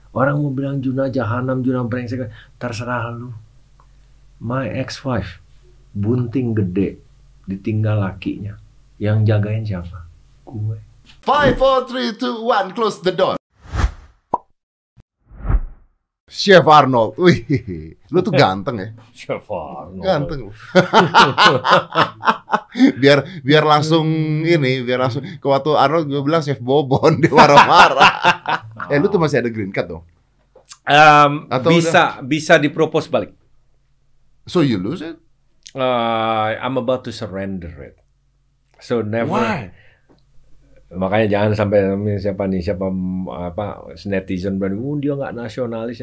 Orang mau bilang Juna jahanam, Juna brengsek, terserah lu. My ex-wife, bunting gede, ditinggal lakinya. Yang jagain siapa? Gue. 5, 4, 3, 2, 1, close the door. Chef Arnold, wih, lu tuh ganteng ya, Chef Arnold. ganteng lu. biar langsung ke waktu Arnold gue bilang Chef Bobon, dia marah-marah. Lu tuh masih ada green card dong? Atau Bisa dipropose balik. So you lose it? I'm about to surrender it. So never. Why? Makanya jangan sampai siapa netizen berani, dia nggak nasionalis.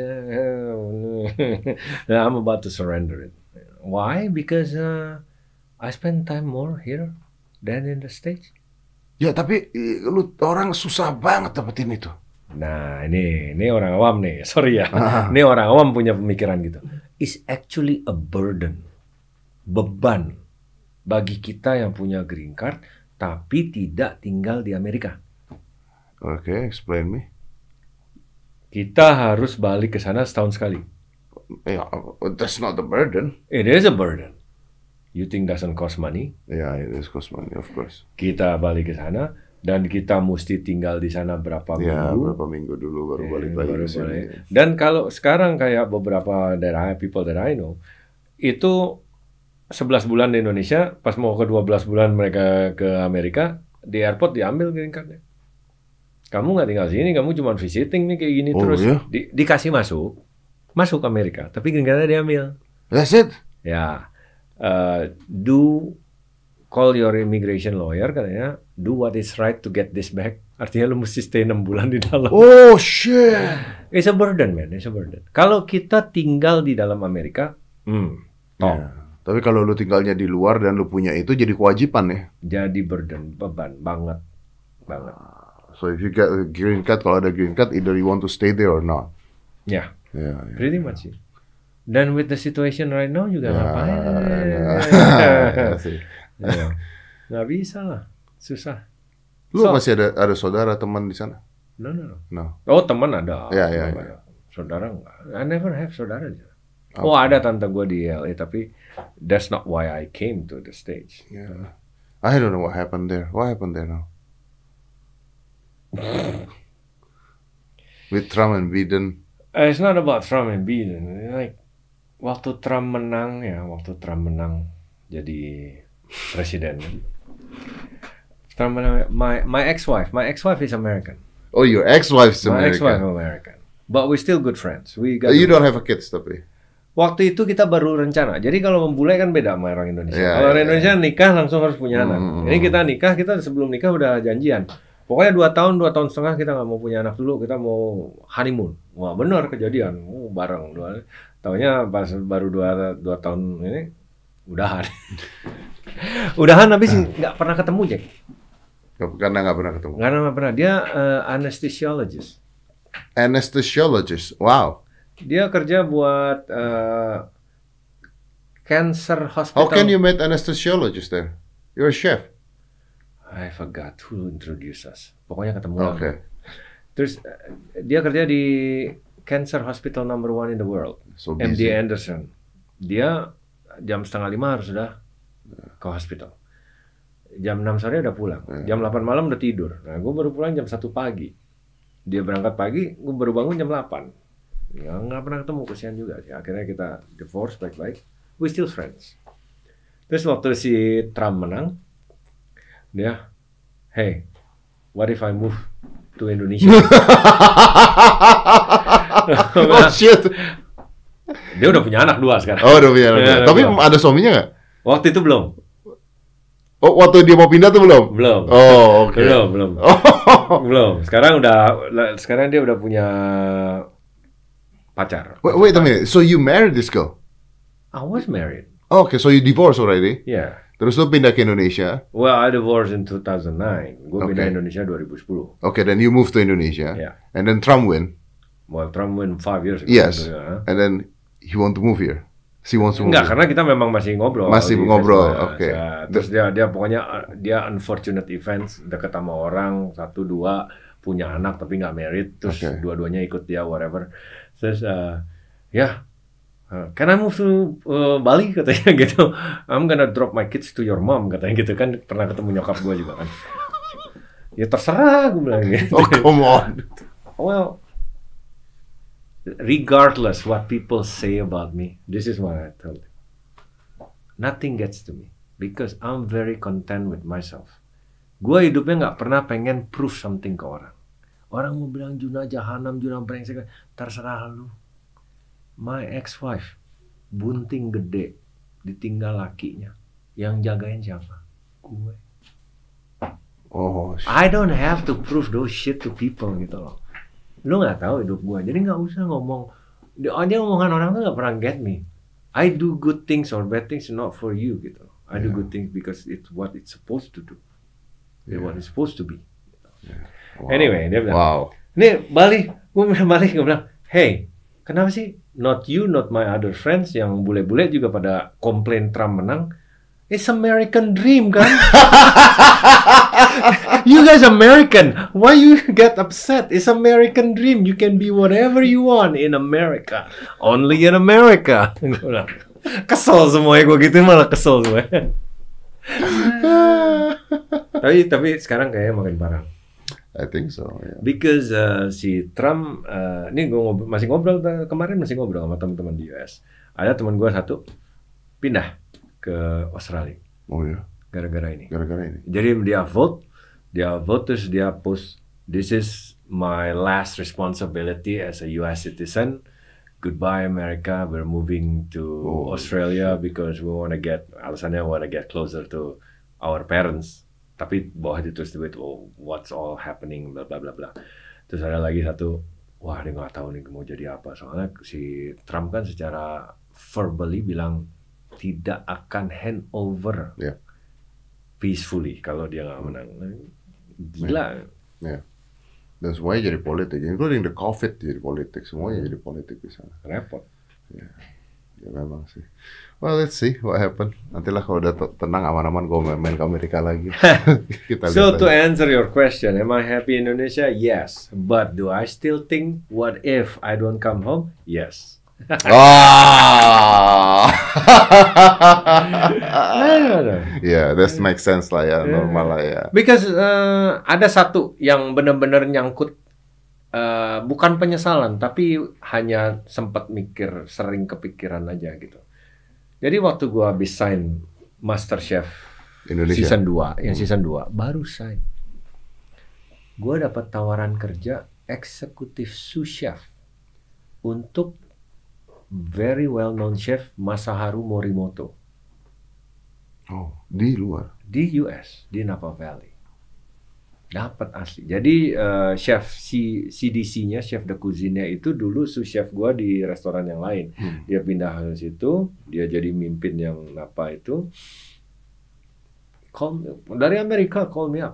I'm about to surrender it. Why? Because I spend time more here than in the States. Ya tapi lu orang susah banget dapetin itu. Nah ini orang awam nih, sorry ya. Ini orang awam punya pemikiran gitu. It's actually a burden, beban bagi kita yang punya green card tapi tidak tinggal di Amerika. Okay, explain me. Kita harus balik ke sana setahun sekali. Yeah, that's not the burden. It is a burden. You think doesn't cost money? Yeah, it is cost money, of course. Kita balik ke sana dan kita mesti tinggal di sana berapa Ya, minggu. berapa minggu dulu baru balik lagi ke sini. Dan kalau sekarang kayak beberapa daerah people that I know, itu 11 bulan di Indonesia, pas mau ke 12 bulan mereka ke Amerika, di airport diambil green card-nya. Kamu nggak tinggal sini, kamu cuma visiting nih kayak gini terus. Yeah? Dikasih masuk Amerika, tapi green card-nya diambil. That's it? Ya, call your immigration lawyer, katanya, do what is right to get this back. Artinya lu mesti stay 6 bulan di dalam. Oh shit. It's a burden, man. It's a burden. Kalau kita tinggal di dalam Amerika, Ya. Tapi kalau lu tinggalnya di luar dan lu punya itu jadi kewajiban ya. jadi burden, beban banget. So if you get a green card, kalau ada green card, either you want to stay there or not. Ya, Yeah. pretty much sih. Dan with the situation right now juga ngapain? Ya, sih. Ya. Nggak bisa lah, susah. Lu masih ada saudara teman di sana? No. No. Oh, teman ada. Ya. Saudara enggak. I never have saudara. Oh, ada tante gue di LA, tapi that's not why I came to the States. Yeah. I don't know what happened there. What happened there now? With Trump and Biden. It's not about Trump and Biden. Like waktu Trump menang jadi presiden. Trump menang. My ex-wife is American. Oh, your ex-wife's My ex-wife American. American. But we're still good friends. You don't have a kids tapi. Waktu itu kita baru rencana. Jadi kalau membulai kan beda sama orang Indonesia. Ya, Kalau ya, orang Indonesia nikah langsung harus punya anak. Ini kita nikah, kita sebelum nikah udah janjian. Pokoknya 2 tahun setengah kita nggak mau punya anak dulu, kita mau honeymoon. Wah benar kejadian, bareng. Taunya pas baru 2 tahun ini udahan. Udahan habis nggak pernah ketemu Jack. Karena nggak pernah ketemu. Nggak pernah. Dia anesthesiologist. Anesthesiologist. Wow. Dia kerja buat cancer hospital. How can you meet anesthesiologist there? You're a chef. I forgot who introduced us. Pokoknya ketemu. Okay. Terus dia kerja di cancer hospital number 1 in the world, So MD busy. Anderson. Dia jam 4:30 harus sudah ke hospital. Jam 6 sore udah pulang. Jam 8 malam udah tidur. Nah, gue baru pulang jam 1 pagi. Dia berangkat pagi, gue baru bangun jam 8. Ya nggak pernah ketemu, kesian juga sih. Akhirnya kita divorce baik-baik. We still friends. Terus waktu si Trump menang, dia, hey, what if I move to Indonesia? Oh shit. Dia udah punya anak 2 sekarang. Oh udah punya. Ya, Tapi belum. ada suaminya nggak? Waktu itu belum. Oh waktu dia mau pindah tuh belum? Belum. Oh oke. Belum. Belum. Sekarang dia udah punya pacar. Wait a minute. So you married this girl? I was married. Oh, okay, so you divorced already? Yeah. Terus lu pindah ke Indonesia? Well, I divorced in 2009. Gue pindah Okay. Indonesia 2010. Okay, then you moved to Indonesia. Yeah. And then Trump win. Well, Trump win 5 years ago. Yes. Ya. And then he want to move here. She wants to move Enggak, here. karena kita memang masih ngobrol. Masih di ngobrol, festival. oke. Ya, terus dia pokoknya dia unfortunate events, deket sama orang 1 2, punya anak tapi nggak married, terus Okay. dua-duanya ikut dia whatever. Terus can I move to Bali katanya gitu. I'm gonna drop my kids to your mom katanya gitu kan. Pernah ketemu nyokap gue juga kan. Ya terserah gue bilang gitu. Oh, come on. Well, regardless what people say about me, this is what I told you. Nothing gets to me because I'm very content with myself. Gue hidupnya nggak pernah pengen prove something ke orang. Orang mau bilang Juna jahanam, Juna brengsek, terserah lu. My ex-wife, bunting gede, ditinggal lakinya. Yang jagain siapa? Gue. Oh, I don't have to prove those shit to people gitu loh. Lu nggak tahu hidup gue, jadi nggak usah ngomong. Dia omongan orang tuh nggak pernah get me. I do good things or bad things not for you gitu. I do good things because it's what it's supposed to do. It's what it's supposed to be. Wow. Anyway, dia bilang, Wow. nih Bali, gue bilang, hey, kenapa sih not you, not my other friends yang bule-bule juga pada komplain Trump menang? It's American dream kan? You guys American, why you get upset? It's American dream. You can be whatever you want in America, only in America. Kesel semuanya gue gitu, malah kesel semuanya. tapi sekarang kayaknya makin parah. I think so. Yeah. Because si Trump, ini gue masih ngobrol sama teman-teman di US. Ada teman gue satu pindah ke Australia Oh ya. gara-gara ini. Gara-gara ini. Jadi dia vote terus dia post, this is my last responsibility as a US citizen. Goodbye America, we're moving to Australia because we want to get closer to our parents. Tapi bawah ditulis duit, what's all happening, bla bla bla bla. Terus ada lagi satu, wah dia nggak tahu nih mau jadi apa. Soalnya si Trump kan secara verbally bilang tidak akan hand over peacefully kalau dia nggak menang. Gila. Yeah. Dan semuanya jadi politik, including the COVID jadi politik, semuanya jadi politik di sana. Repot. Ya memang sih. Well, let's see what happen. Nantilah kalau udah tenang aman-aman gue main ke Amerika lagi. Kita So lihat to aja. answer your question, am I happy in Indonesia? Yes. But do I still think, what if I don't come home? Yes. Yeah, that makes sense lah ya, normal lah ya. Because ada satu yang benar-benar nyangkut, bukan penyesalan, tapi hanya sempat mikir, sering kepikiran aja gitu. Jadi waktu gua habis sign MasterChef Indonesia. season 2, yang season 2 baru sign. Gua dapat tawaran kerja eksekutif sous chef untuk very well known chef Masaharu Morimoto. Oh, di luar. Di US, di Napa Valley. Dapat asli. Jadi chef CDC-nya, chef de cuisine-nya itu dulu sous chef gua di restoran yang lain. Dia pindah ke situ, dia jadi mimpin yang Napa itu. Dari Amerika call me up.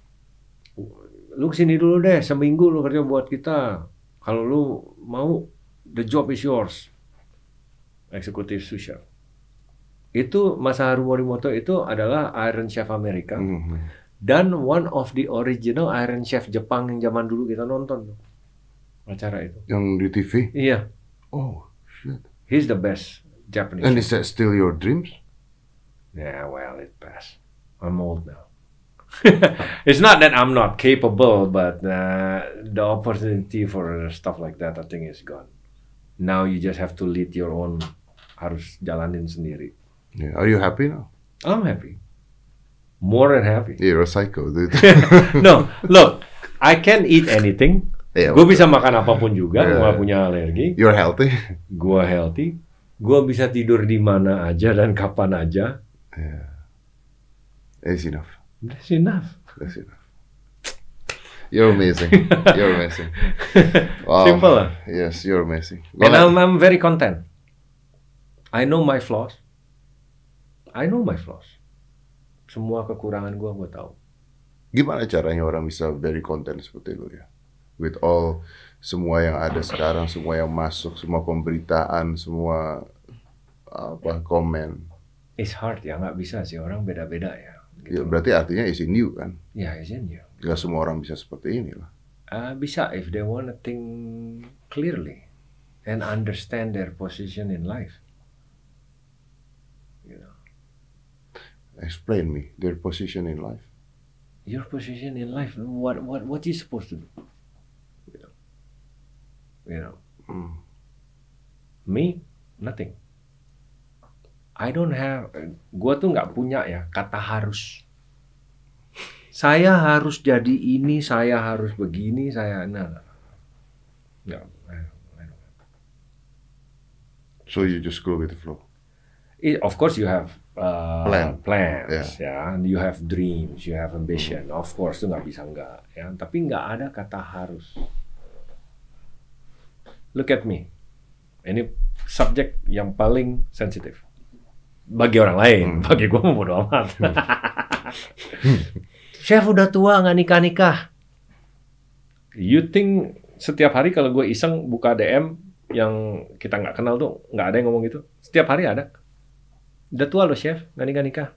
Lu kesini dulu deh, seminggu lu kerja buat kita. Kalau lu mau, the job is yours. Eksekutif sous chef. Itu Masaharu Morimoto itu adalah Iron Chef Amerika. Dan one of the original Iron Chef Jepang yang zaman dulu kita nonton tuh. Acara itu. Yang di TV? Iya. Oh, shit. He's the best Japanese And chef. is that still your dreams? Yeah, well, it passed. I'm old now. It's not that I'm not capable, but the opportunity for stuff like that, I think, is gone. Now you just have to lead your own, harus jalanin sendiri. Yeah. Are you happy now? I'm happy. More than happy. You're a psycho, dude. No, look, I can eat anything. Yeah, Gue bisa makan apapun juga, gue Yeah. gak punya alergi. You're healthy. Gue healthy. Gue bisa tidur di mana aja dan kapan aja. Yeah. That's enough. That's enough. That's enough. You're amazing. You're amazing. Wow. Simple lah. Yes, you're amazing. And I'm very content. I know my flaws. Semua kekurangan gue tahu. Gimana caranya orang bisa very content seperti itu ya? With all semua yang ada sekarang, semua yang masuk, semua pemberitaan, semua komen. It's hard ya, nggak bisa sih, orang beda-beda ya. Ya, berarti artinya is in you kan? Ya, is in you. Gak semua orang bisa seperti ini lah. Bisa if they wanna think clearly and understand their position in life. You know, Explain me their position in life. your position in life. What you supposed to do? You know. Me, nothing. I don't have. Gua tuh nggak punya ya kata harus. Saya harus jadi ini, saya harus begini, saya nggak. So you just go with the flow. Of course you have plans, Yeah. ya. You have dreams, you have ambition. Of course itu nggak bisa nggak, ya. Tapi nggak ada kata harus. Look at me. Ini subjek yang paling sensitif bagi orang lain. Bagi gue mau bodo amat. Chef udah tua nggak nikah. You think setiap hari kalau gue iseng buka DM yang kita nggak kenal tuh nggak ada yang ngomong gitu? Setiap hari ada. Udah tua loh chef, nggak nikah.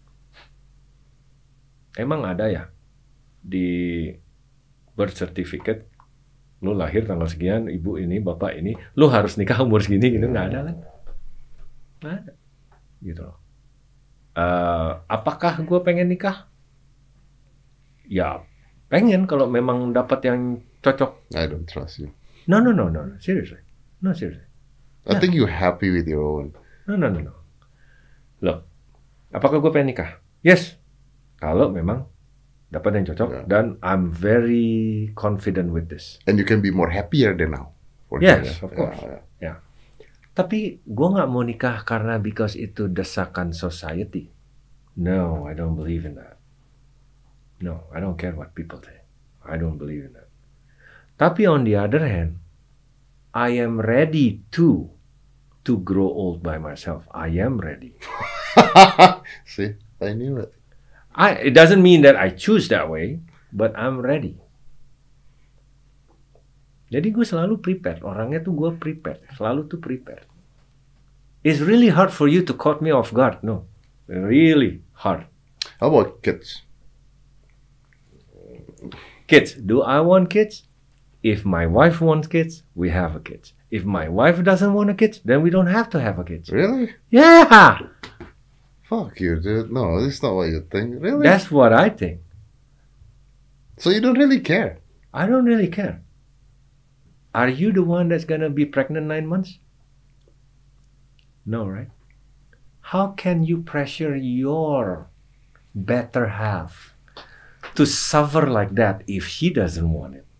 Emang ada ya di birth certificate, lu lahir tanggal sekian, ibu ini, bapak ini, lu harus nikah umur segini gitu, nggak ada kan? Nggak ada, gitu loh. Apakah gue pengen nikah? Ya pengen kalau memang dapat yang cocok. I don't trust you. No, seriously. I think you're happy with your own. No. Loh, apakah gue pengen nikah? Yes. Kalau memang dapat yang cocok dan I'm very confident with this. And you can be more happier than now. Yes, of course. Yeah. Tapi gue nggak mau nikah karena because itu desakan society. No, I don't believe in that. No, I don't care what people say. I don't believe in that. Tapi on the other hand, I am ready to grow old by myself. I am ready. See, I knew it. It doesn't mean that I choose that way, but I'm ready. Jadi gue selalu prepared. Orangnya tuh gue prepared. Selalu tuh prepared. It's really hard for you to caught me off guard. No, really hard. How about kids? Kids, do I want kids? If my wife wants kids, we have a kids. If my wife doesn't want a kid, then we don't have to have a kid. Really? Yeah! Fuck you, dude. No, this is not what you think. Really? That's what I think. So you don't really care? I don't really care. Are you the one that's gonna be pregnant 9 months? No, right? How can you pressure your better half to suffer like that if she doesn't want it?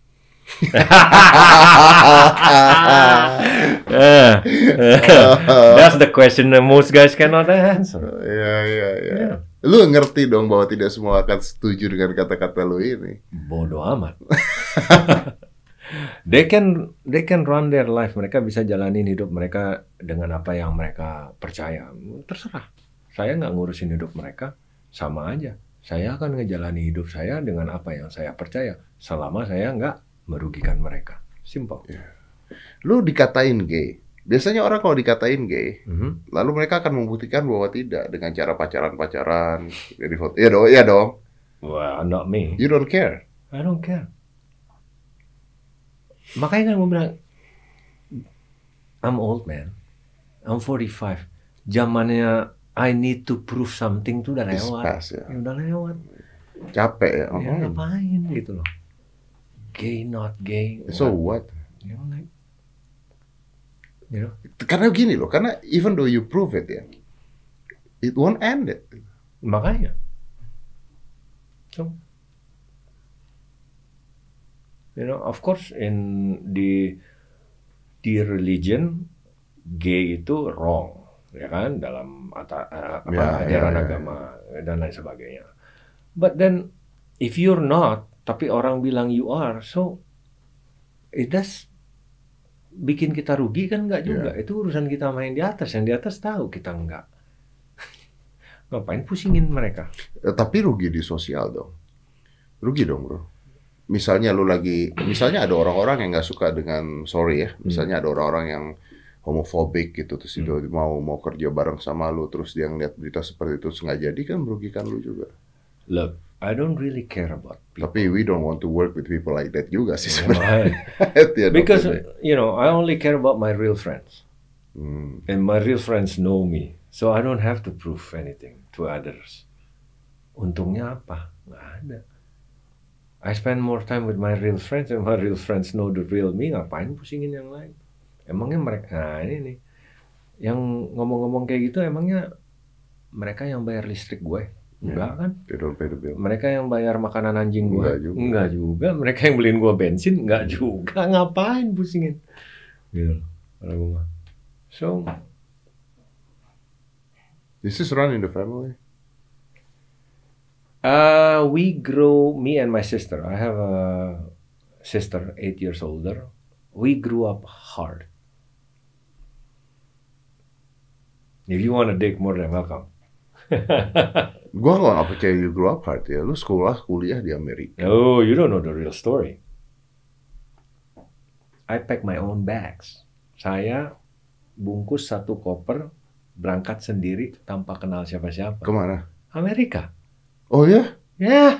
That's the question that most guys cannot answer. Yeah. Lu ngerti dong bahwa tidak semua akan setuju dengan kata-kata lu ini. Bodoh amat. They can run their life. Mereka bisa jalanin hidup mereka dengan apa yang mereka percaya. Terserah. Saya nggak ngurusin hidup mereka. Sama aja. Saya akan ngejalani hidup saya dengan apa yang saya percaya. Selama saya nggak merugikan mereka. Simple. Yeah. Lu dikatain gay. Biasanya orang kalau dikatain gay, lalu mereka akan membuktikan bahwa tidak dengan cara pacaran-pacaran, jadi foto. Iya dong. Well, not me. You don't care. I don't care. Makanya kan gue bilang, I'm old man. I'm 45. Zamannya I need to prove something tuh udah lewat. Past, ya. Udah lewat. Capek ya. Ya ngapain gitu loh. Gay, not gay. So what? You know? Karena gini loh, karena even though you prove it ya, it won't end it. Makanya. So, you know, of course di religion gay itu wrong, ya kan, dalam ajaran agama dan lain sebagainya. But then if you're not, tapi orang bilang you are, so it does bikin kita rugi kan enggak juga. Itu urusan kita main di atas, yang di atas tahu kita enggak. Ngapain pusingin mereka? Tapi rugi di sosial dong. Rugi dong, bro. Misalnya ada orang-orang yang nggak suka dengan, misalnya ada orang-orang yang homofobik gitu, terus dia mau kerja bareng sama lu, terus dia ngeliat berita seperti itu, nggak jadi kan merugikan lu juga. Look, I don't really care about people. Tapi we don't want to work with people like that juga sih Yeah, sebenarnya. At the end of because the day. I only care about my real friends, Hmm. and my real friends know me, so I don't have to prove anything to others. Untungnya apa? Nggak ada. I spend more time with my real friends, and my real friends know the real me. Ngapain pusingin yang lain? Emangnya mereka, nah ini nih, yang ngomong-ngomong kayak gitu, emangnya mereka yang bayar listrik gue? Enggak kan? They don't pay the bill. Mereka yang bayar makanan anjing gue? Enggak juga. Enggak juga. Mereka yang beliin gue bensin? Enggak juga. Ngapain pusingin? Gitu. Kalau gue mah. So, This is run in the family. me and my sister. I have a sister 8 years older. We grew up hard. If you want to dig, more than welcome. Gua nggak percaya you grew up hard ya. Lu kuliah di Amerika. No, you don't know the real story. I pack my own bags. Saya bungkus satu koper, berangkat sendiri tanpa kenal siapa-siapa. Kemana? Amerika. Oh ya? Ya.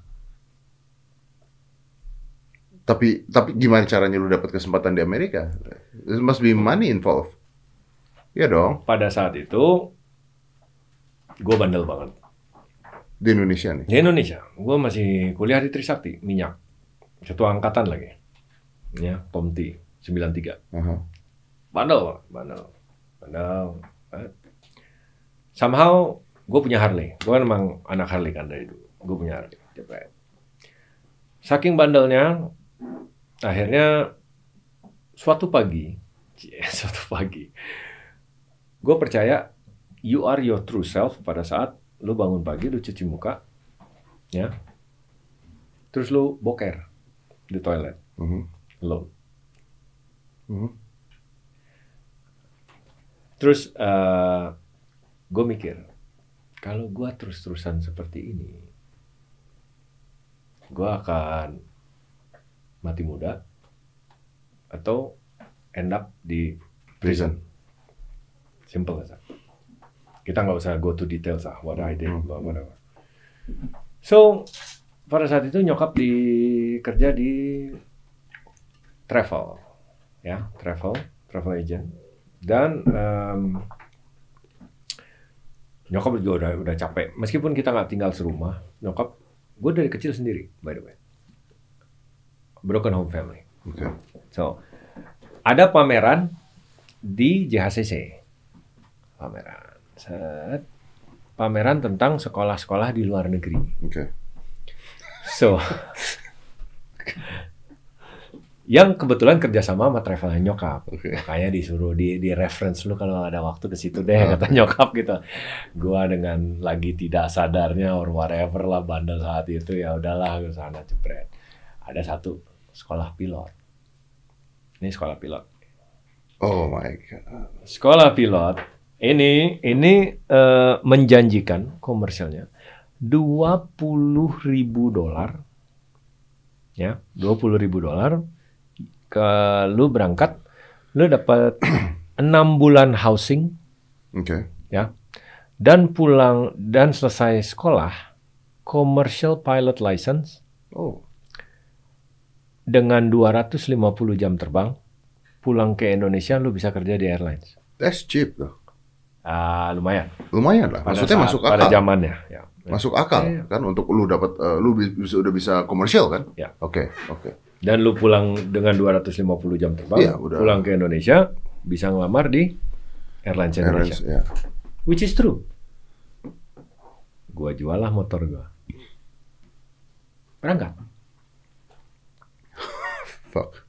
Tapi gimana caranya lu dapat kesempatan di Amerika? There must be money involved. Iya dong. Pada saat itu, gue bandel banget. Di Indonesia nih. Di Indonesia, gue masih kuliah di Trisakti, minyak. Satu angkatan lagi. Ya, Komti, 93. Aha. Bandel. Somehow, gue punya Harley. Gue memang anak Harley kan dari dulu. Gue punya Harley. Saking bandelnya, akhirnya suatu pagi, gue percaya you are your true self pada saat lu bangun pagi, lu cuci muka, ya, terus lu boker di toilet, alone. Terus gue mikir, kalau gue terus-terusan seperti ini, gue akan mati muda atau end up di prison. Simple aja. Kita nggak usah go to details what I did, whatever. So pada saat itu nyokap kerja di travel agent, dan nyokap juga udah capek. Meskipun kita nggak tinggal serumah, nyokap gue dari kecil sendiri, by the way, broken home family. Okay. So ada pameran di JHCC. Pameran tentang sekolah-sekolah di luar negeri. Okay. So, yang kebetulan kerjasama sama travel nyokap. Okay. Makanya disuruh di reference lu kalau ada waktu ke situ deh, kata nyokap gitu. Gua dengan lagi tidak sadarnya or whatever lah, bandel saat itu, ya udahlah ke sana jepret. Ada satu sekolah pilot. Ini sekolah pilot. Oh my god. Sekolah pilot ini menjanjikan komersialnya $20.000, ya, $20.000. Lu berangkat, lu dapat 6 bulan housing, ya, dan pulang dan selesai sekolah commercial pilot license, dengan 250 jam terbang, pulang ke Indonesia lu bisa kerja di airlines. That's cheap though. Lumayan. Lumayan lah. Maksudnya masuk akal. Pada zamannya, ya. Masuk akal kan untuk lu dapat udah bisa komersial kan? Ya. Oke. Dan lu pulang dengan 250 jam terbang, Iya, udah. pulang ke Indonesia, bisa ngelamar di Airlines Indonesia. Ya. Which is true. Gua jual lah motor gua. Berangkat. Fuck.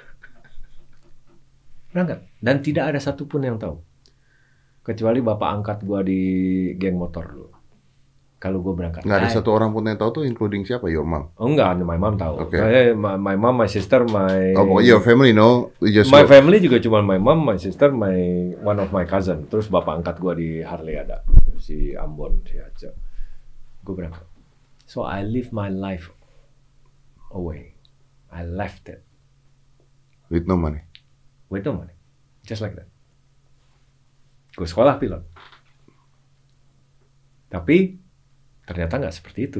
Berangkat. Dan tidak ada satupun yang tahu. Kecuali bapak angkat gua di geng motor dulu. Kalau gua berangkat. Nggak ada satu orang pun yang tahu tuh, including siapa? Your mom? Oh enggak, my mom tahu. Okay. My mom, my sister, pokoknya your family know. My family juga cuma my mom, my sister, one of my cousin. Terus bapak angkat gua di Harley ada. Si Ambon, si Aceh. Gua berangkat. So I live my life away. I left it. With no money. With no money. Just like that. Gue sekolah pilot. Tapi Ternyata nggak seperti itu.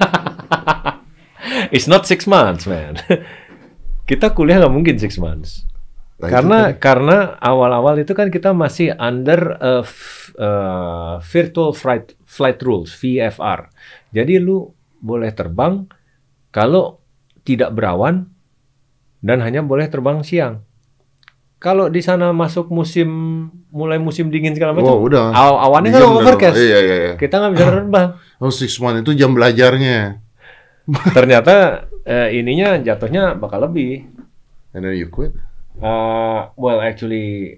It's not 6 months, man. Kita kuliah nggak mungkin 6 months. Nah, Karena awal-awal itu kan kita masih under virtual flight rules, VFR. Jadi lu boleh terbang kalau tidak berawan dan hanya boleh terbang siang. Kalau di sana masuk mulai musim dingin segala macam, udah. awannya kan overcast. Iya. Kita nggak bisa terbang. Oh, 6 months itu jam belajarnya. Ternyata ininya jatuhnya bakal lebih. And then you quit? Well, actually,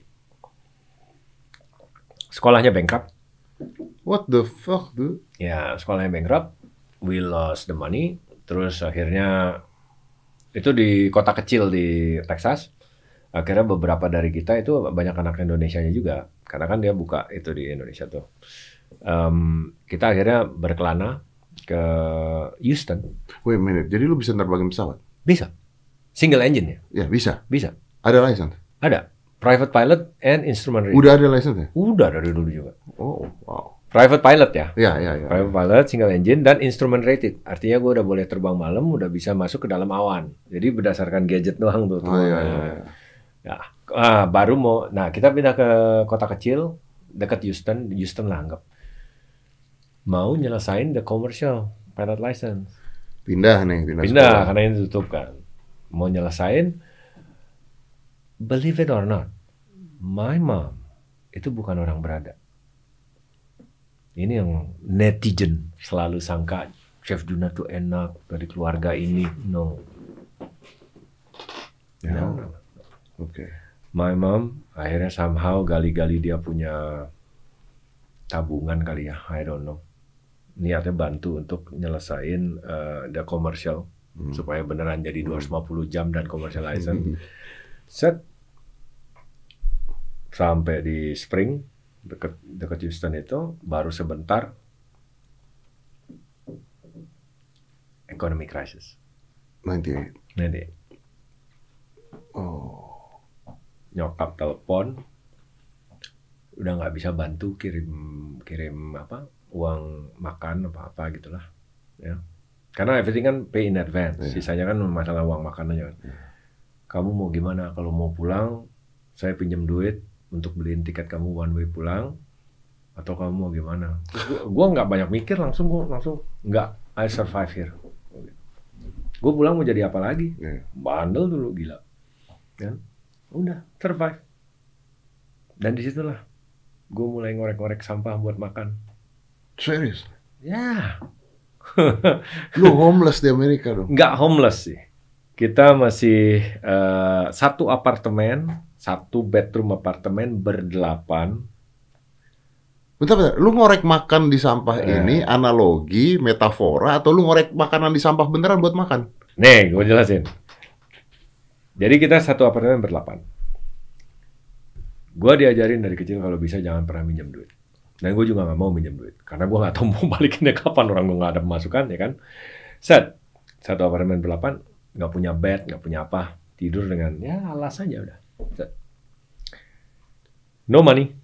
sekolahnya bankrupt. What the fuck, dude? Ya, sekolahnya bankrupt. We lost the money. Terus akhirnya itu di kota kecil di Texas. Akhirnya beberapa dari kita itu banyak anak Indonesianya juga. Karena kan dia buka itu di Indonesia tuh. Kita akhirnya berkelana ke Houston. Wait a minute, jadi lu bisa nerbangin pesawat? Bisa. Single engine ya? Ya, bisa. Bisa. Ada license? Ada. Private pilot and instrument rating. Udah ada license ya? Udah dari dulu juga. Oh, wow. Private pilot ya? Ya. Private pilot, single engine, dan instrument rated. Artinya gue udah boleh terbang malam, udah bisa masuk ke dalam awan. Jadi berdasarkan gadget doang tuh. Oh, iya. Ya. Baru mau, kita pindah ke kota kecil, dekat Houston lah anggap. Mau nyelesain the commercial pilot license. Pindah sekolah. Karena ini tutup kan. Mau nyelesain, believe it or not, my mom itu bukan orang berada. Ini yang netizen selalu sangka Chef Juna tuh enak dari keluarga ini. No. Okay. My mom akhirnya somehow gali-gali dia punya tabungan kali ya, I don't know. Niatnya bantu untuk nyelesain the commercial supaya beneran jadi 250 jam dan commercial license. Set sampai di Spring dekat Houston itu baru sebentar economic crisis. 98. Oh. Nyokap telepon udah nggak bisa bantu kirim uang makan apa gitulah ya. Karena everything kan pay in advance. Sisanya kan masalah uang makan aja kan. Kamu mau gimana? Kalau mau pulang, saya pinjam duit untuk beliin tiket kamu one way pulang, atau kamu mau gimana? Gua nggak banyak mikir, langsung nggak, I survive here. Gue pulang mau jadi apa lagi? Bandel dulu gila, kan? Udah survive. Dan disitulah gue mulai ngorek-ngorek sampah buat makan. Serius? Ya. Lu homeless di Amerika dong? Nggak homeless sih. Kita masih satu bedroom apartemen berdelapan. Bentar. Lu ngorek makan di sampah ini analogi, metafora, atau lu ngorek makanan di sampah beneran buat makan? Nih, gue jelasin. Jadi kita satu apartemen berdelapan. Gue diajarin dari kecil kalau bisa jangan pernah minjem duit. Dan gue juga nggak mau minjem duit. Karena gue nggak tahu mau balikinnya kapan, orang gue nggak ada pemasukan, ya kan. Satu apartemen berdelapan, nggak punya bed, nggak punya apa. Tidur dengan, ya alas aja udah. No money.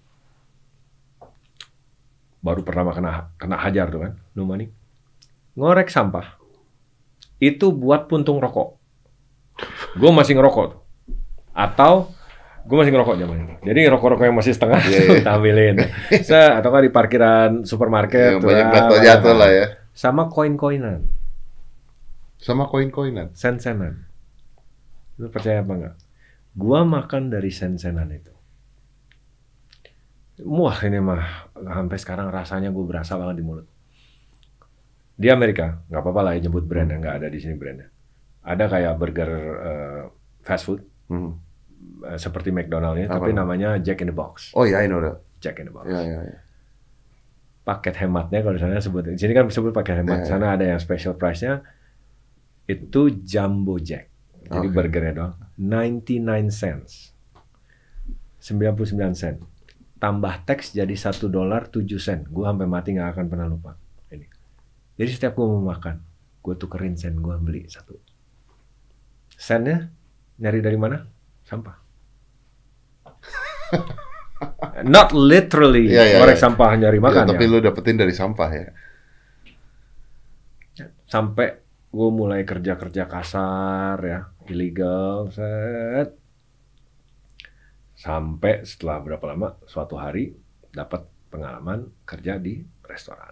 Baru pertama kena hajar tuh kan, no money. Ngorek sampah. Itu buat puntung rokok. Gue masih ngerokok tuh. Atau gue masih ngerokok zaman itu. Jadi rokok-rokok yang masih setengah kita ambilin. Atau kan di parkiran supermarket. Banyak jatuh lah ya. Sama koin-koinan. Sama koin-koinan. Sen-senan. Lu percaya apa enggak? Gua makan dari sen-senan itu. Wah, ini mah sampai sekarang rasanya gue berasa banget di mulut. Di Amerika, nggak apa-apa lah ya nyebut brandnya, nggak ada di sini brandnya. Ada kayak burger fast food, seperti McDonald's-nya, tapi namanya Jack in the Box. Oh iya, I know that. Jack in the Box. Yeah. Paket hematnya kalau di sana sebut, di sini kan disebut paket hemat. Sana ada yang special price-nya, itu Jumbo Jack. Jadi burgernya doang, 99 cents, 99 sen. Tambah teks jadi $1.07. Gue sampai mati nggak akan pernah lupa ini. Jadi setiap gue mau makan, gue tukerin sen, gue beli satu. Sennya nyari dari mana? Sampah. Not literally ngorek sampah nyari makan tapi ya. lu dapetin dari sampah ya. Sampai gue mulai kerja kasar ya, illegal, set. Sampai setelah berapa lama, suatu hari dapat pengalaman kerja di restoran.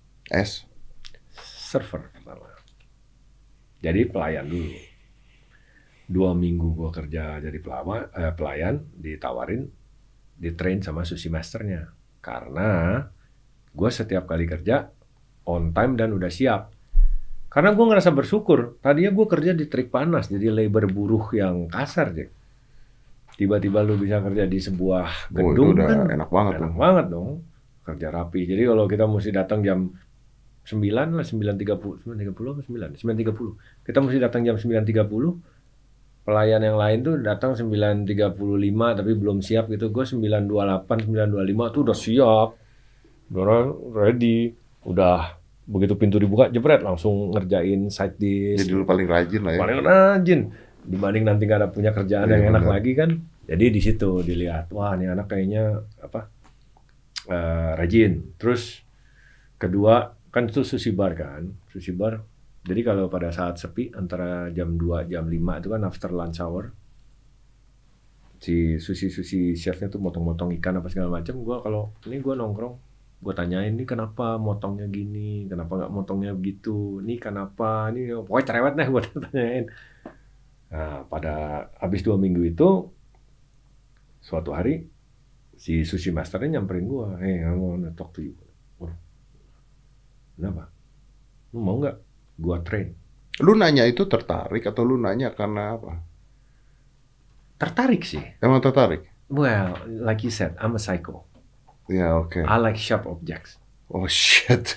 Server pertama. Jadi pelayan dulu. 2 minggu gue kerja jadi pelayan, ditawarin, di-train sama sushi masternya. Karena gue setiap kali kerja on time dan udah siap. Karena gue ngerasa bersyukur. Tadinya gue kerja di terik panas, jadi labor buruh yang kasar, Jack. Tiba-tiba lu bisa kerja di sebuah gedung itu udah kan enak banget dong. Kerja rapi. Jadi kalau kita mesti datang jam 9 lah, 9.30 apa 9.30. Kita mesti datang jam 9.30. Pelayan yang lain tuh datang 9.35 tapi belum siap gitu. Gue 9.28, 9.25 tuh udah siap. Udah ready. Udah begitu pintu dibuka, jebret langsung ngerjain side dish. Jadi lu paling rajin lah ya. Paling rajin. Dibanding nanti nggak ada punya kerjaan yang enak lagi kan. Jadi di situ dilihat, wah ini anak kayaknya rajin. Terus kedua kan itu sushi bar kan, sushi bar. Jadi kalau pada saat sepi antara jam 2 jam 5 itu kan after lunch hour, si sushi chefnya tuh motong-motong ikan apa segala macam. Gua kalau ini gua nongkrong, gua tanyain ini kenapa motongnya gini, kenapa nggak motongnya begitu, ini kenapa, ini pokoknya cerewet deh gua tanyain. Nah, pada habis 2 minggu itu, suatu hari si sushi masternya nyamperin gua, I wanna talk to you. Waduh, kenapa? Lu mau nggak gua train? Lu nanya itu tertarik atau lu nanya karena apa? Tertarik sih. Emang tertarik? Well, like you said, I'm a psycho. Ya, oke. I like sharp objects. Oh shit.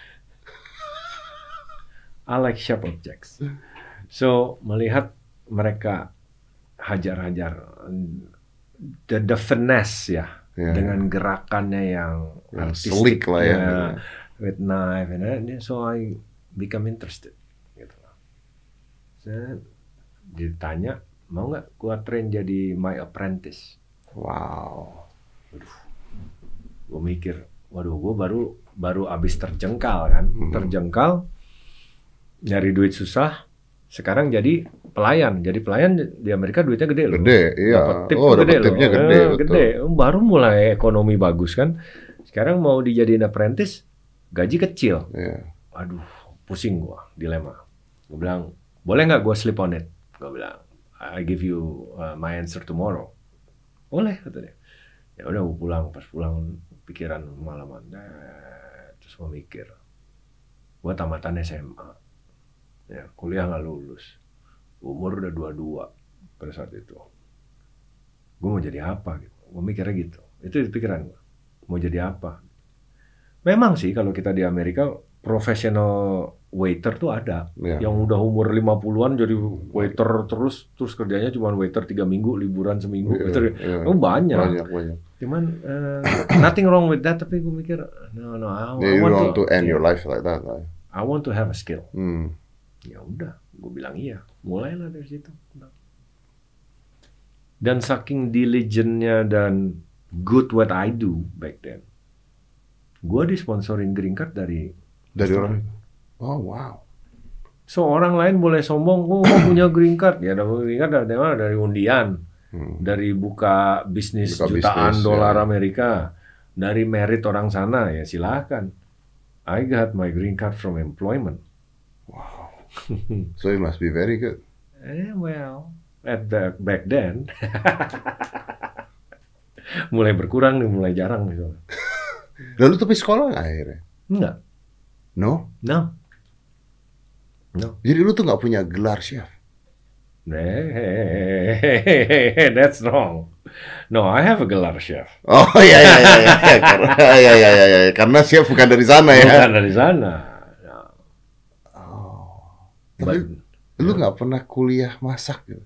I like sharp objects. So, melihat mereka hajar-hajar the finesse ya, dengan gerakannya yang slick lah ya, with knife and so I become interested gitu. Saya ditanya mau nggak gua train jadi my apprentice. Wow. Waduh, gua mikir, waduh gua baru abis terjengkal kan, terjengkal, nyari duit susah. Sekarang jadi pelayan di Amerika duitnya gede loh. Gede, iya. Dapat tipnya gede. Gede. Baru mulai ekonomi bagus kan. Sekarang mau dijadiin apprentice, gaji kecil. Iya. Aduh, pusing gua, dilema. Gua bilang, boleh nggak gua sleep on it? Gua bilang, I give you my answer tomorrow. Boleh katanya. Ya udah gua pulang, pas pulang pikiran malaman. Terus gua mikir, gua tamatan SMA. Ya, kuliah nggak lulus, umur udah 22 pada saat itu. Gue mau jadi apa gitu, gue mikirnya gitu. Itu di pikiran gue, mau jadi apa. Memang sih kalau kita di Amerika, professional waiter tuh ada. Yang udah umur 50-an jadi waiter terus kerjanya cuma waiter 3 minggu, liburan seminggu. Banyak. Cuman, nothing wrong with that, tapi gue mikir, no, I want to end your life like that. I want to have a skill. Ya udah, gue bilang iya. Mulailah dari situ. Dan saking diligentnya dan good what I do back then, gue disponsorin green card dari orang. Oh wow. So orang lain boleh sombong, gue punya green card. Ya dapat green card dari undian, dari buka bisnis jutaan dolar Amerika, dari merit orang sana. Ya silakan. I got my green card from employment. Wow. So it must be very good. Well, back then, mulai berkurang nih, mulai jarang nih. Lalu tapi sekolah nggak akhirnya? Enggak. No. Jadi lu tuh nggak punya gelar chef? That's wrong. No, I have a gelar chef. Oh iya. Karena chef bukan dari sana ya. Bukan dari sana. Tapi lu nggak pernah kuliah masak gitu?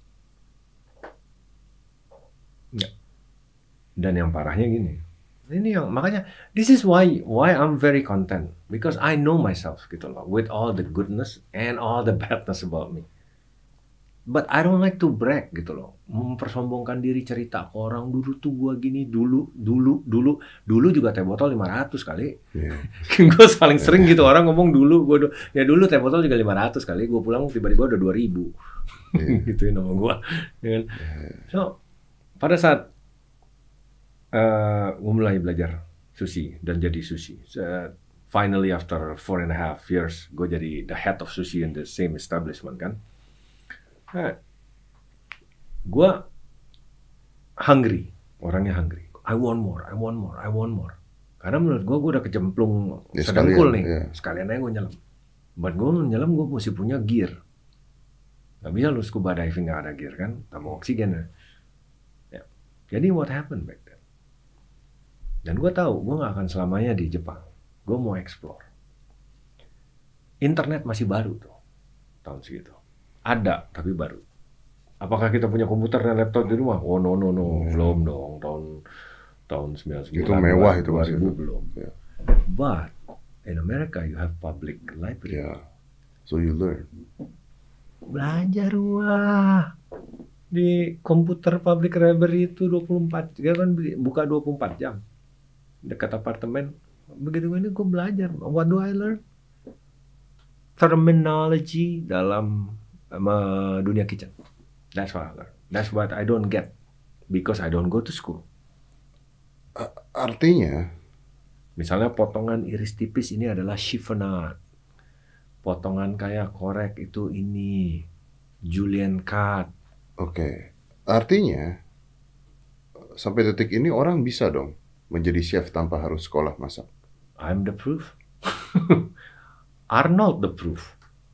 Nggak. Dan yang parahnya gini, ini yang makanya this is why I'm very content because I know myself gitu loh, with all the goodness and all the badness about me. But I don't like to brag gitu loh. Mempersombongkan diri, cerita ke orang, dulu tuh gua gini, dulu juga teh botol 500 kali. Gue paling sering gitu orang ngomong dulu, ya dulu teh botol juga 500 kali, gue pulang tiba-tiba udah 2000. Gituin sama gua. Ya kan? So, pada saat gue mulai belajar sushi dan jadi sushi. Finally after 4.5 years, gue jadi the head of sushi in the same establishment kan. Gue hungry, orangnya hungry. I want more. Karena menurut gue udah kecemplung sedengkul nih. Sekalian aja gue nyelam. Buat gue nyelam, gue mesti punya gear. Gak bisa lu scuba diving gak ada gear kan, tambah oksigen. Ya. Jadi what happened back then? Dan gue tahu gue gak akan selamanya di Jepang. Gue mau explore. Internet masih baru tuh tahun segitu. Ada, tapi baru. Apakah kita punya komputer dan laptop di rumah? Oh no, belum dong. Tahun 99. Itu mewah itu 2000 belum. Yeah. But in America you have public library. Yeah. So you learn. Belajar wah. Di komputer public library itu 24, dia kan buka 24 jam. Dekat apartemen. Begitu ini gue belajar. What do I learn? Terminology dalam dunia kitchen. That's what I learn. That's what I don't get because I don't go to school. Artinya, misalnya potongan iris tipis ini adalah chiffonade. Potongan kayak korek itu ini julienne cut. Oke. Artinya sampai detik ini orang bisa dong menjadi chef tanpa harus sekolah masak. I'm the proof. Arnold the proof.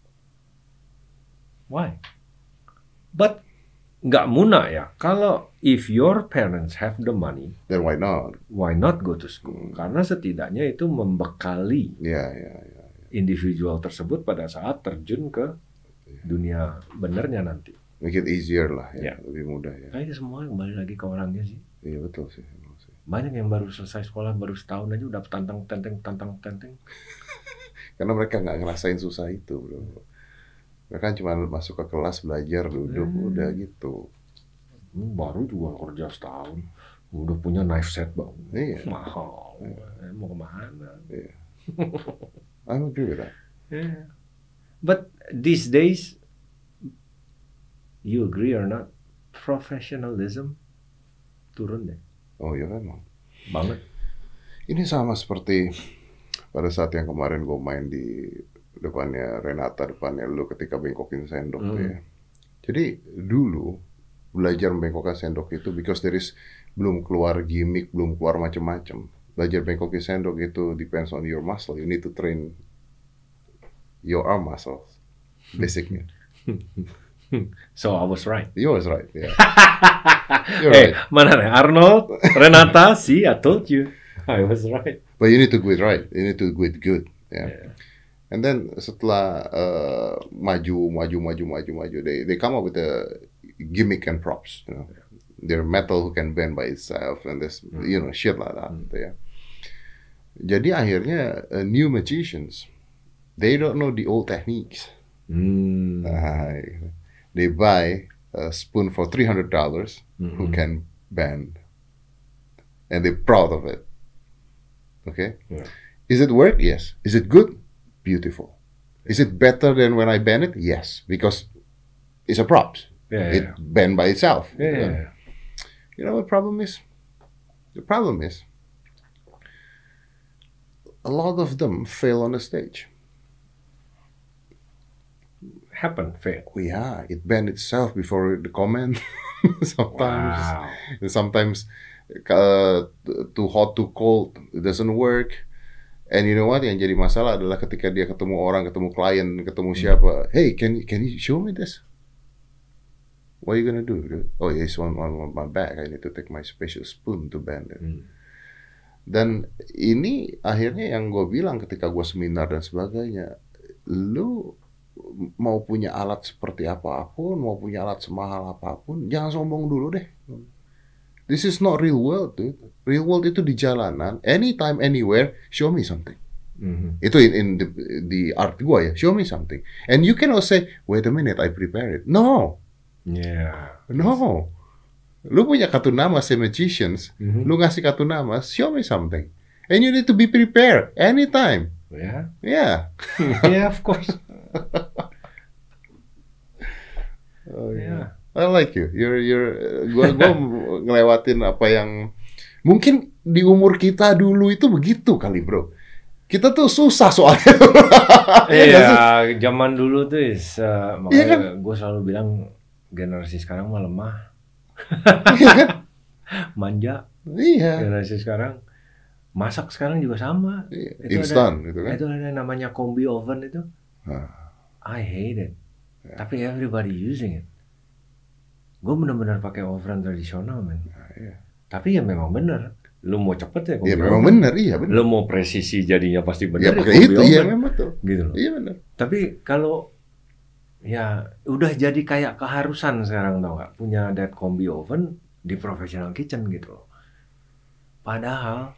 Why? But nggak muna ya. Kalau if your parents have the money, then why not? Why not go to school? Karena setidaknya itu membekali individual tersebut pada saat terjun ke dunia benernya nanti. Make it easier lah ya, lebih mudah ya. Kayaknya semua kembali lagi ke orangnya sih. Iya betul sih. Banyak yang baru selesai sekolah baru setahun aja udah tantang tenteng. Karena mereka nggak ngerasain susah itu, bro. Mereka cuma masuk ke kelas belajar duduk udah gitu. Baru juga kerja setahun udah punya knife set bang. Iya. Mahal. Mau kemana? Iya. I agree with that. Yeah. But these days, you agree or not, professionalism turun deh. Oh iya memang. Banget. Ini sama seperti pada saat yang kemarin gue main di depannya Renata, depannya lu ketika bengkokin sendok tuh ya. Jadi dulu belajar membengkokkan sendok itu because there is belum keluar gimmick, belum keluar macam-macam. Belajar bengkokin sendok itu depends on your muscle. You need to train your arm muscles, basically. So I was right. You was right, yeah. Hey, right. Mana nih Arnold, Renata, see, I told you, I was right. But you need to do it right. You need to do it good, yeah. And then setelah maju, they come up with a gimmick and props. You know, they're metal who can bend by itself and this, you know, shit like that. Ya. Jadi akhirnya new magicians, they don't know the old techniques. They buy a spoon for $300 who can bend, and they're proud of it. Okay, is it work? Yes. Is it good? Beautiful. Is it better than when I bend it? Yes, because it's a props. It bend by itself. You know what the problem is? The problem is a lot of them fail on the stage. Fail. Yeah, it bend itself before the comment. Sometimes too hot, too cold, it doesn't work. And you know what? Yang jadi masalah adalah ketika dia ketemu orang, ketemu klien, ketemu siapa. Hey, can you show me this? What are you gonna do? Oh, it's on my back. I need to take my special spoon to bend it. Dan ini akhirnya yang gue bilang ketika gue seminar dan sebagainya, lu mau punya alat seperti apapun, mau punya alat semahal apapun, jangan sombong dulu deh. This is not real world, dude. Real world itu di jalanan, anytime, anywhere, show me something. Itu in the art gua ya, show me something. And you cannot say, wait a minute, I prepare it. No, Yeah. No. Lu punya kartu nama say magicians, lu ngasih kartu nama, show me something. And you need to be prepared anytime. Yeah. Yeah. Yeah, of course. Oh, Yeah. I like you. Gua ngelewatin apa yang mungkin di umur kita dulu itu begitu kali, bro. Kita tuh susah soalnya. Iya, zaman dulu tuh makanya Iya kan? gue selalu bilang generasi sekarang mah lemah. Iya kan? Manja. Iya. Generasi sekarang masak sekarang juga sama. Iya. Itu Instan gitu kan. Itu ada namanya combi oven itu. I hate it. Tapi everybody using it. Gue benar-benar pakai oven tradisional, men. Iya. Tapi ya memang benar. Lu mau cepet ya combi Iya memang oven. benar, iya benar. Lu mau presisi jadinya pasti Ya benar. pakai combi itu, oven. iya memang betul. Gitu loh. Iya benar. Tapi kalau ya udah jadi kayak keharusan sekarang, tau nggak, punya that combi oven di professional kitchen gitu loh. Padahal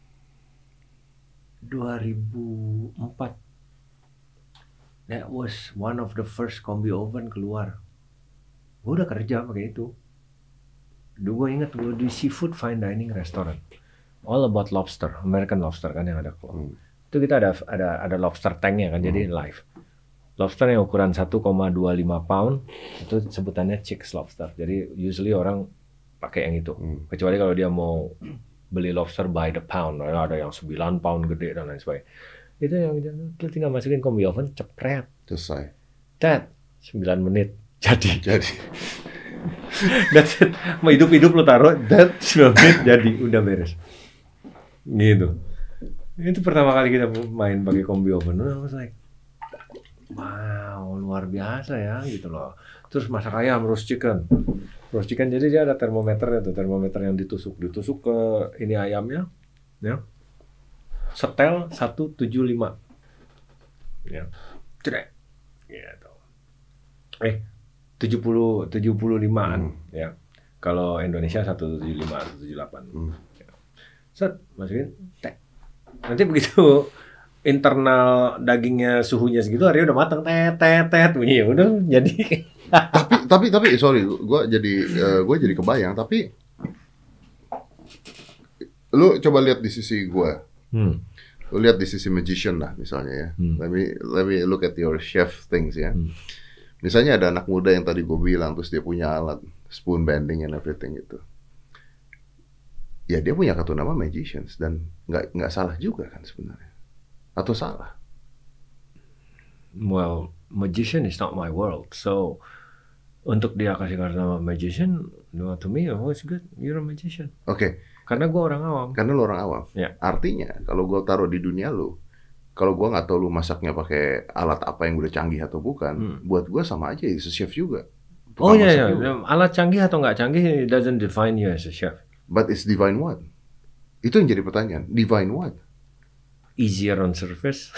2004 that was one of the first combi oven keluar. Gue udah kerja pakai itu. Dulu gue inget gue di seafood fine dining restaurant. All about lobster, American lobster kan yang ada keluar. Itu kita ada lobster tanknya kan, jadi live. Lobster yang ukuran 1,25 pound itu sebutannya chicks lobster. Jadi usually orang pakai yang itu. Kecuali kalau dia mau beli lobster by the pound, ada yang 9 pound gede dan lain sebagainya. Itu yang tinggal masukin combi oven, cepret. Selesai. Tet, 9 menit jadi. Jadi That's it. Mau hidup-hidup lo taruh, that 9 menit jadi, udah beres. Gitu. Itu pertama kali kita main pakai combi oven. I was like, wow, luar biasa ya gitu loh. Terus masak ayam, roast chicken. Roast chicken jadi dia ada termometernya tuh, termometer yang ditusuk ke ini ayamnya, ya. Setel 175. Ya. Cedek. Gitu. 75-an ya. Kalau Indonesia 175, 178. Ya. Set, masukin tek. Nanti begitu internal dagingnya suhunya segitu, hari udah matang, tet bunyi, udah jadi. tapi sorry, gue jadi kebayang. Tapi lu coba lihat di sisi gue, lu lihat di sisi magician lah misalnya ya. Let me look at your chef things ya. Misalnya ada anak muda yang tadi gue bilang, terus dia punya alat spoon bending and everything gitu. Ya dia punya kartu nama magicians dan nggak salah juga kan sebenarnya. Atau salah? Well, magician is not my world. So, untuk dia kasih kartu nama magician, to me, oh it's good, you're a magician. Oke. Karena gue orang awam. Karena lu orang awam. Ya. Artinya, kalau gue taruh di dunia lu, kalau gue nggak tahu lu masaknya pakai alat apa yang udah canggih atau bukan, buat gue sama aja, chef juga. Oh Tukang iya, masak iya. juga. Alat canggih atau nggak canggih, it doesn't define you as a chef. But it's divine what? Itu yang jadi pertanyaan. Divine what? Easier on surface.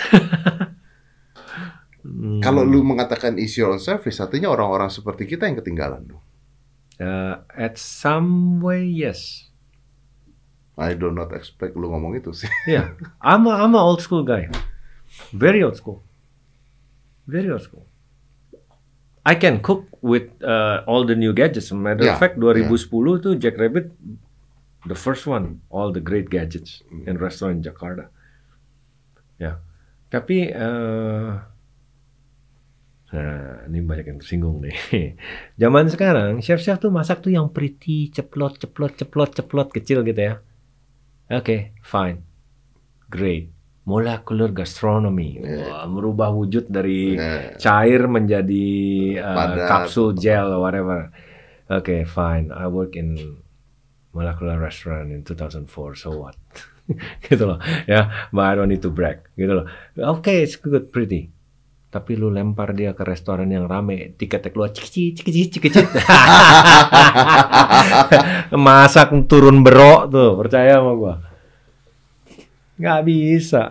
Kalau lu mengatakan easier on surface, artinya orang-orang seperti kita yang ketinggalan dong. At some way, yes. I do not expect lu ngomong itu sih. Yeah, I'm a old school guy. Very old school. Very old school. I can cook with all the new gadgets. Matter of fact, 2010 tuh Jack Rabbit, the first one, all the great gadgets in restaurant Jakarta. Ya, tapi nah, ini banyak yang tersinggung nih. Zaman sekarang chef-chef tuh masak tuh yang pretty, ceplot kecil gitu ya. Oke, fine, great. Molecular gastronomy, wah, merubah wujud dari cair menjadi kapsul gel whatever. Oke, fine. I work in molecular restaurant in 2004. So what? Gitu loh, ya. But I don't need to brag. Gitu loh. Oke, it's good, pretty. Tapi lu lempar dia ke restoran yang rame, tiketnya keluar cikicit. Masak turun berok tuh, percaya sama gua. Nggak bisa.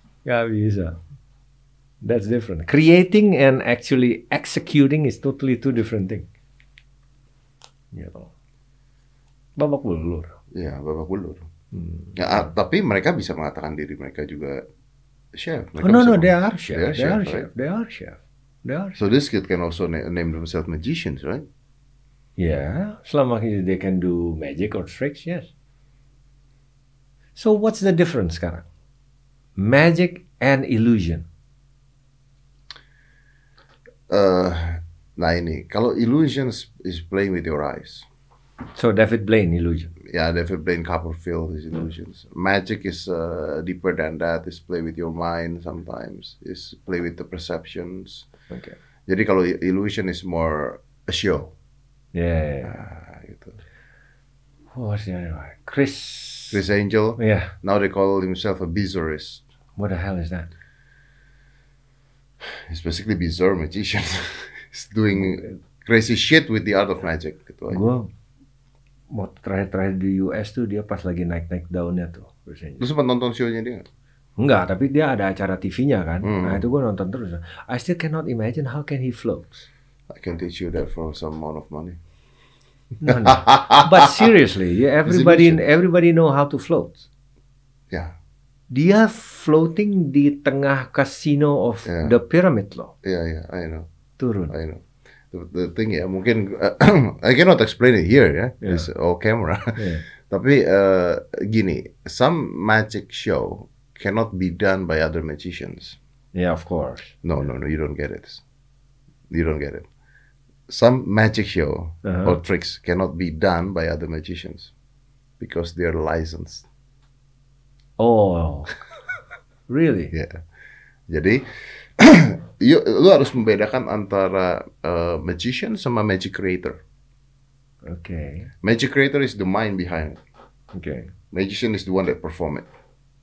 That's different. Creating and actually executing is totally two different things. Gitu. Babak belur. Iya, babak belur. Ya, tapi mereka bisa mengatakan diri mereka juga chef. Mereka No, they are chef. They are chef. They are chef. So this kid can also name themselves magicians, right? Yeah, selama they can do magic or tricks, yes. So what's the difference sekarang? Magic and illusion. Nah ini, kalau illusion is playing with your eyes. So David Blaine illusion. Yeah, David Blaine Copperfield is illusions. Magic is deeper than that. Is play with your mind sometimes. Is play with the perceptions. Okay. Jadi kalau illusion is more a show. Yeah. Gitu. What's the other one? Chris Angel. Yeah. Now they call himself a bizarrist. What the hell is that? He's basically bizarre magician. He's doing crazy shit with the art of magic. Gitu aja. Gue mau terakhir di US tuh dia pas lagi naik daunnya tuh. Lu sempat nonton show-nya dia nggak? Enggak, tapi dia ada acara TV-nya kan. Nah itu gue nonton terus. I still cannot imagine how can he float. I can teach you that for some amount of money. No. But seriously, everybody know how to float. Yeah. Dia floating di tengah casino of the pyramid loh. Yeah, I know. Turun. I know. The thing ya, mungkin I cannot explain it here ya. It's all camera. Yeah. Tapi gini, some magic show cannot be done by other magicians. Yeah, of course. No, you don't get it. You don't get it. Some magic show or tricks cannot be done by other magicians because they're licensed. Oh, really? Yeah. Jadi, lu harus membedakan antara magician sama magic creator. Okay. Magic creator is the mind behind it. Okay. Magician is the one that perform it.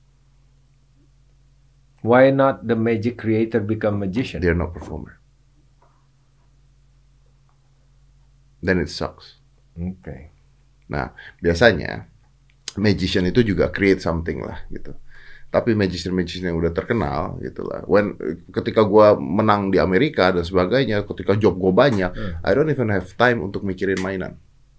Why not the magic creator become magician? They're not performer. Then it sucks. Okay. Nah, biasanya magician itu juga create something lah gitu. Tapi magician yang udah terkenal gitu lah. Ketika gua menang di Amerika dan sebagainya, ketika job gua banyak, I don't even have time untuk mikirin mainan.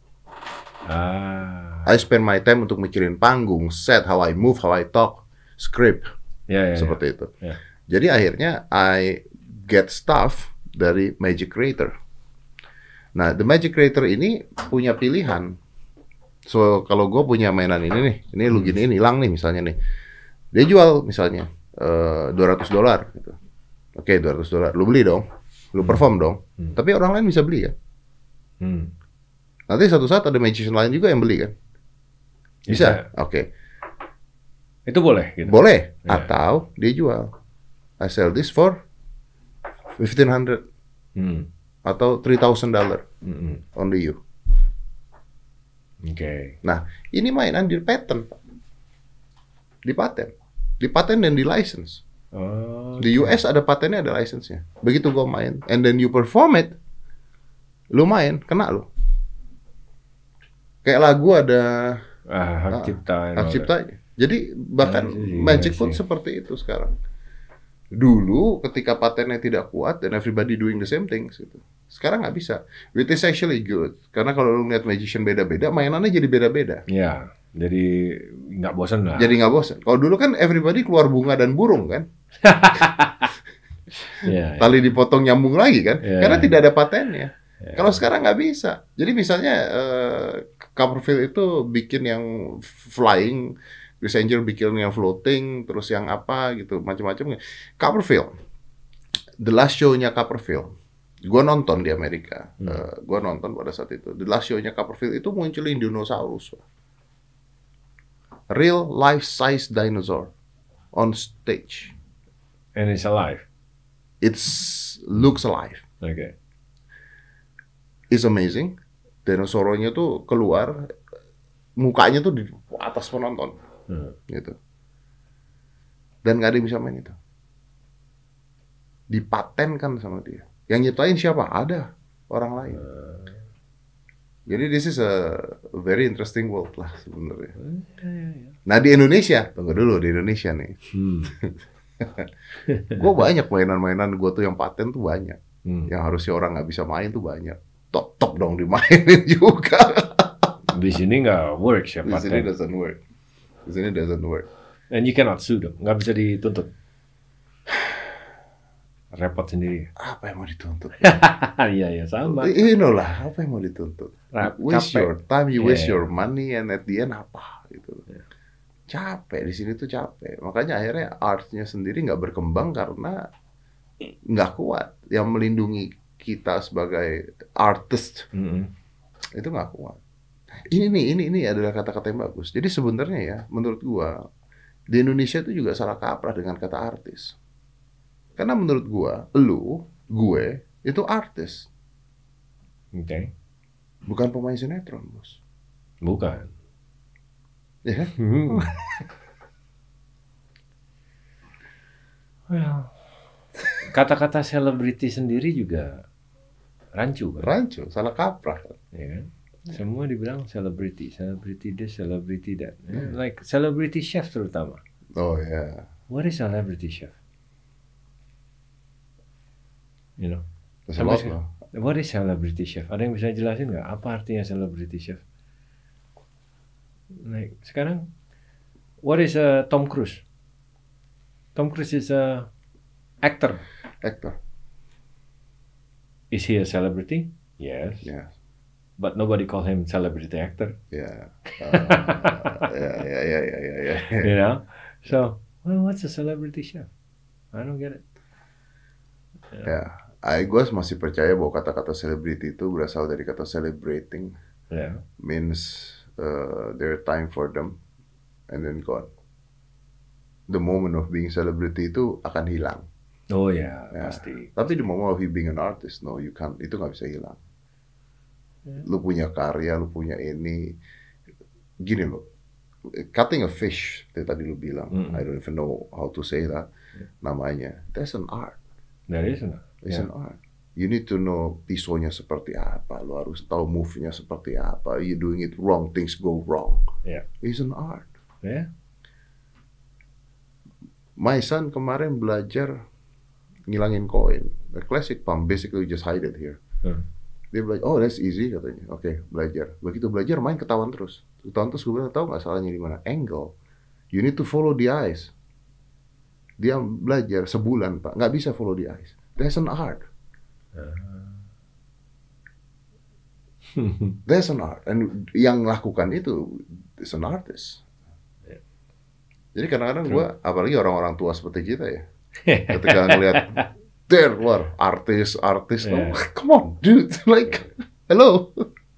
I spend my time untuk mikirin panggung, set, how I move, how I talk, script, seperti itu. Yeah. Jadi akhirnya I get stuff dari magic creator. Nah, the magic creator ini punya pilihan. So, kalau gue punya mainan ini nih, ini lu giniin hilang nih misalnya nih. Dia jual misalnya $200 gitu. Oke, $200. Lu beli dong. Lu perform dong. Tapi orang lain bisa beli kan? Nanti satu saat ada magician lain juga yang beli kan? Bisa? Oke. Itu boleh gitu? Boleh. Atau dia jual. I sell this for $1,500. Atau $3,000 only you. Okay. Nah, ini mainan di patent, di paten dan di license. Di US ada patennya, ada license-nya. Begitu gua main, and then you perform it, lu main, kena lu. Kayak lagu ada hak cipta. Jadi bahkan magic pun seperti itu sekarang. Dulu ketika patennya tidak kuat dan everybody doing the same things gitu. Sekarang nggak bisa. Which is actually good. Karena kalau lu lihat magician beda-beda, mainannya jadi beda-beda. Ya, jadi nggak bosan lah. Jadi nggak bosan. Kalau dulu kan everybody keluar bunga dan burung kan. Tali dipotong nyambung lagi kan. Karena tidak ada patennya. Kalau sekarang nggak bisa. Jadi misalnya Copperfield itu bikin yang flying, Chris Angel bikin yang floating, terus yang apa gitu, macam-macam. Copperfield, the last show-nya Copperfield, gue nonton di Amerika, gue nonton pada saat itu. The last show-nya Copperfield itu munculin dinosaurus, real life size dinosaur on stage. And it's alive. It's looks alive. Okay. It's amazing. Dinosaurnya tuh keluar, mukanya tuh di atas penonton. Gitu. Dan nggak ada yang bisa main itu. Dipatenkan sama dia. Yang nyiptain siapa? Ada orang lain. Jadi this is a very interesting world lah sebenarnya. Nah di Indonesia, tunggu dulu, di Indonesia nih. Gue banyak mainan-mainan gue tuh yang paten tuh banyak. Yang harusnya orang nggak bisa main tuh banyak. Top dong dimainin juga. Di sini nggak work ya paten. Di sini doesn't work. Di sini doesn't work. And you cannot sue them. Nggak bisa dituntut. repot sendiri. Apa yang mau dituntut? Iya sama. Lah, apa yang mau dituntut? Waste Capek. your time, you waste Yeah. your money, and at the end apa gitu. Yeah. Capek di sini tuh capek. Makanya akhirnya artnya sendiri nggak berkembang karena nggak kuat. Yang melindungi kita sebagai artist itu nggak kuat. Ini adalah kata-kata yang bagus. Jadi sebenarnya ya, menurut gua di Indonesia itu juga salah kaprah dengan kata artis. Karena menurut gua, gue itu artis, Oke. bukan pemain sinetron, bos. Bukan. Ya kan? Well, kata-kata selebriti sendiri juga rancu kan? Rancu, salah kaprah. Ya kan? Semua dibilang selebriti this, selebriti that. Like celebrity chef terutama. Oh ya. What is celebrity chef? You know, There's a lot loh. what is celebrity chef? Ada yang bisa jelasin nggak? Apa artinya celebrity chef? Like sekarang, what is Tom Cruise? Tom Cruise is a actor. Actor. Is he a celebrity? Yes. Ya. But nobody call him celebrity actor. Ya. Ya. You know? So, well, what's a celebrity chef? I don't get it. Ya. Gue masih percaya bahwa kata-kata celebrity itu berasal dari kata celebrating. Yeah. Means their time for them and then gone. The moment of being celebrity itu akan hilang. Oh ya, Ya. pasti. Tapi the moment of you being an artist, no, you can't. Itu nggak bisa hilang. Lu punya karya, lu punya ini. Gini loh, cutting a fish, yang tadi lu bilang, I don't even know how to say that, namanya. That's an art. There is no. It's an art. You need to know pisaunya seperti apa. Lu harus tahu move-nya seperti apa. You doing it wrong, things go wrong. Yeah. It's an art. Yeah. My son kemarin belajar ngilangin koin. The classic pump, basically you just hide it here. Dia belajar, oh that's easy katanya. Oke, belajar. Begitu belajar main ketahuan terus. Ketahuan terus gue bilang, tahu nggak salahnya di mana? Angle. You need to follow the eyes. Dia belajar sebulan Pak, nggak bisa follow the eyes. That's an art. That's an art. And yang lakukan itu is an artist. Jadi kadang-kadang gue, apalagi orang-orang tua seperti kita ya, ketika ngelihat there keluar artis, Yeah. oh, come on, dude, like, hello.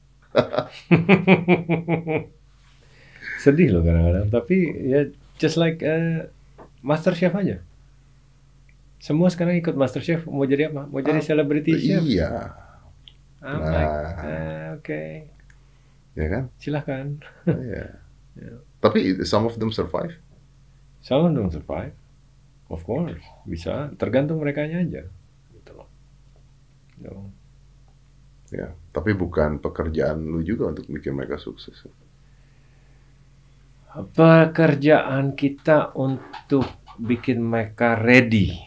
Sedih loh kadang-kadang, tapi ya just like MasterChef aja. Semua sekarang ikut MasterChef, mau jadi apa? Mau jadi celebrity chef. Iya, I'm like, oke, ya kan? silahkan. Iya. Tapi some of them survive. Some don't survive, of course, bisa. Tergantung merekanya aja. Gitu loh. No. Ya, tapi bukan pekerjaan lu juga untuk bikin mereka sukses. Pekerjaan kita untuk bikin mereka ready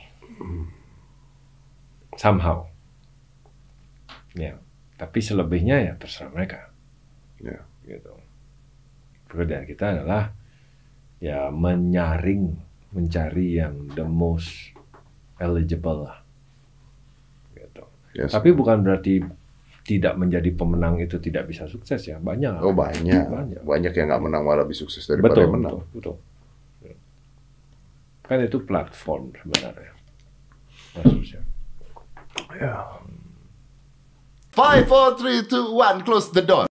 somehow. Ya, tapi selebihnya ya terserah mereka. Ya. Gitu. Pekerjaan kita adalah ya mencari yang the most eligible lah. Gitu. Yes. Tapi bukan berarti tidak menjadi pemenang itu tidak bisa sukses ya, banyak. Oh banyak yang nggak menang malah lebih sukses daripada yang menang. Betul. Kan itu platform sebenarnya. Maksudnya. Ya. 5, 4, 3, 2, 1, close the door.